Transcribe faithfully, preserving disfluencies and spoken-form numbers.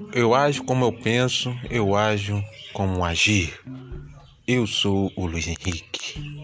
Eu ajo como eu penso, eu ajo como agir. Eu sou o Luiz Henrique.